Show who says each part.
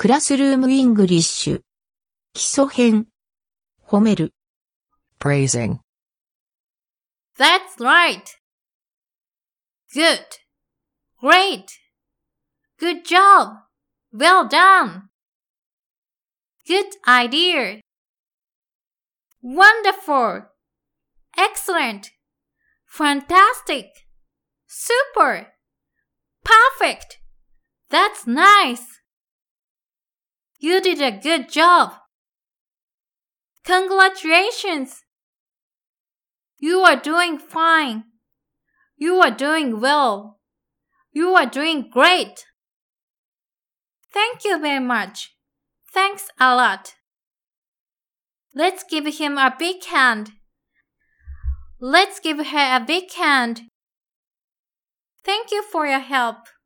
Speaker 1: クラスルームイングリッシュ。基礎編。褒める。
Speaker 2: praising.
Speaker 3: That's right. Good. Great. Good job. Well done. Good idea. Wonderful. Excellent. Fantastic. Super. Perfect. That's nice. You did a good job. Congratulations. You are doing fine. You are doing well. You are doing great. Thank you very much. Thanks a lot. Let's give him a big hand. Let's give her a big hand. Thank you for your help.